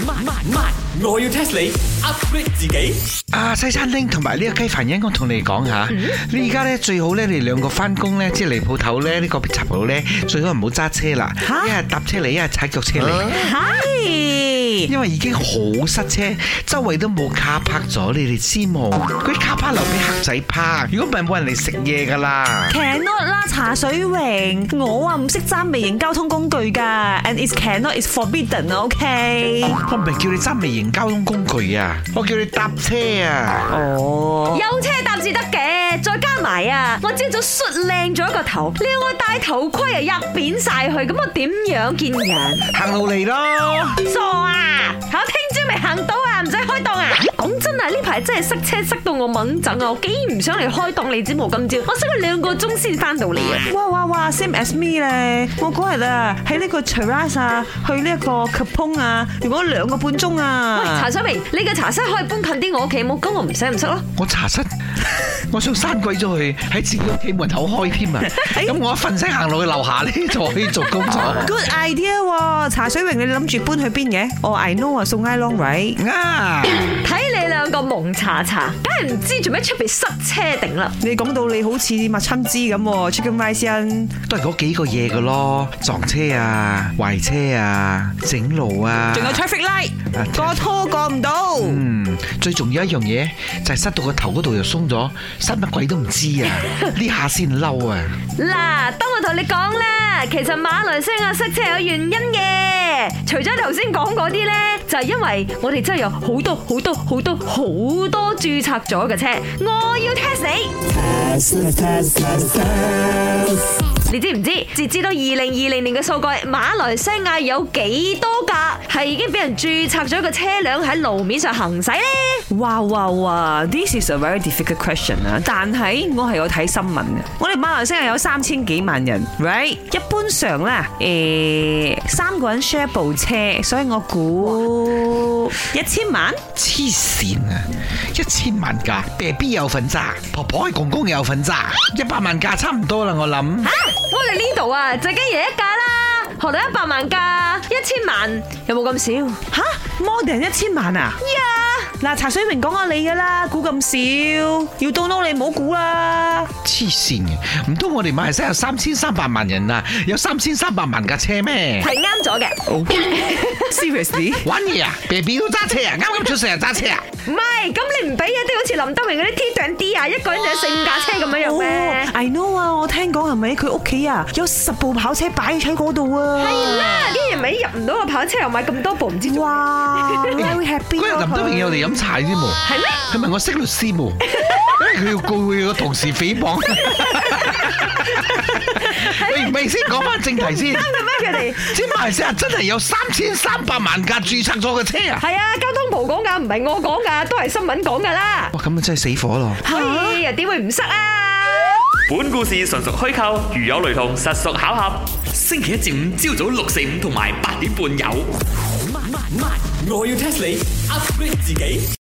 我要 test 你 upgrade 自己。 西餐廳同埋呢個雞飯因，我同你講下，你而家咧最好咧，你兩個翻工咧，即係嚟鋪頭咧，呢個茶鋪咧，最好唔好揸車啦，一係搭車嚟，一係踩腳車嚟。係，因為已經好塞車，周圍都冇卡泊咗，你哋知冇？嗰啲卡泊留俾客仔泊，如果唔係冇人嚟食嘢噶啦。 Cannot 啦，茶水榮，我唔識揸微型交通工具噶 ，and it's cannot is forbidden，OK？ 我唔係叫你揸微型交通工具啊，我叫你搭車啊。 哦， 有車搭至得嘅，再加埋啊，我朝早梳靚咗個頭，你要我戴頭盔啊，入扁晒去，咁我點樣見人？ 行路嚟咯。 傻啊！我聽朝未行到啊，唔使開檔啊！講真啊，呢排真係塞車塞到我猛整啊！我幾唔想嚟開檔，你知冇？今朝我塞咗2個鐘先翻到嚟啊！ 哇 ，same as me 咧！我嗰日啊喺呢個 Cheras 啊，去呢一個 Kapong 啊，用咗2個半鐘啊！ 喂，茶水明，你嘅茶室可以搬近啲我屋企冇？咁我唔使唔塞咯。 我茶室，我想閂鬼咗佢喺自己屋企門口開添啊！咁我一瞓醒行落去樓下咧就可以做工作。 Good idea 喎！茶水榮，你諗住搬去邊嘅？哦，I know 啊，送 I Long right 啊！ 睇你兩個蒙查查，梗係唔知做咩出邊塞車定啦！ 你講到你好似麥親枝咁 ，Chicken Rice 都係嗰幾個嘢噶咯，撞車啊、壞車啊、整路啊， 仲有 traffic light， 過拖過唔到。 最重要一樣嘢就係塞到個頭嗰度又鬆咗，塞乜鬼都唔知啊！呢下先嬲啊！ 嗱，當我同你講啦，其實馬來西亞塞車有原因嘅，除咗頭先講嗰啲咧，就係因為我哋真係有好多註冊咗嘅車，我要 test 你知唔知？截至到2020年嘅數據，馬來西亞有幾多架係已經俾人註冊咗嘅車輛喺路面上行駛呢？ 哇 ，This is a very difficult question 啊！但係我係有睇新聞嘅，我哋馬來西亞有3000幾萬人 ，right？ 一般上咧，3個人 share 部車，所以我估1000萬。 黐線啊！1000萬架，BB 有份揸，婆婆公公有份揸，100萬架差唔多啦，我諗。 我哋呢度啊，最緊要一架啦，學到100萬架，1000萬有冇咁少？ 吓，more than 1000萬啊！嗱，茶水明講下你噶啦，估咁少，要到撈你唔好估啦。 黐線嘅，唔通我哋馬來西亞有3300萬人啊，有3300萬架車咩？ 係啱咗嘅。 Seriously？ 玩嘢啊 ！BB 都揸車啊，啱出世就揸車啊！ 唔係，咁你唔俾啊？啲好似林德榮嗰啲 T20啊，一個人就有4-5架車咁樣樣咩 ？I know 啊，我聽講係咪佢屋企啊有10部跑車擺喺嗰度啊？ 係啦，啲人咪入唔到個跑車又買咁多部，唔知哇 ，very happy。 嗰日林德榮有嚟飲茶添喎， 係咩？ 佢問我識律師冇，因為佢要告佢個同事誹謗。你未先講翻正題先。 啱嘅咩？佢哋知馬來西亞真係有3300萬架註冊咗嘅車啊！ 係啊，交通部講㗎，唔係我講㗎，都係新聞講㗎啦。 哇，咁啊真係死火咯！ 哎呀，點會唔塞啊？ 本故事純屬虛構，如有雷同，實屬巧合。星期一至五朝早6、4、5同埋8點半有。我要 test 你 upgrade 自己。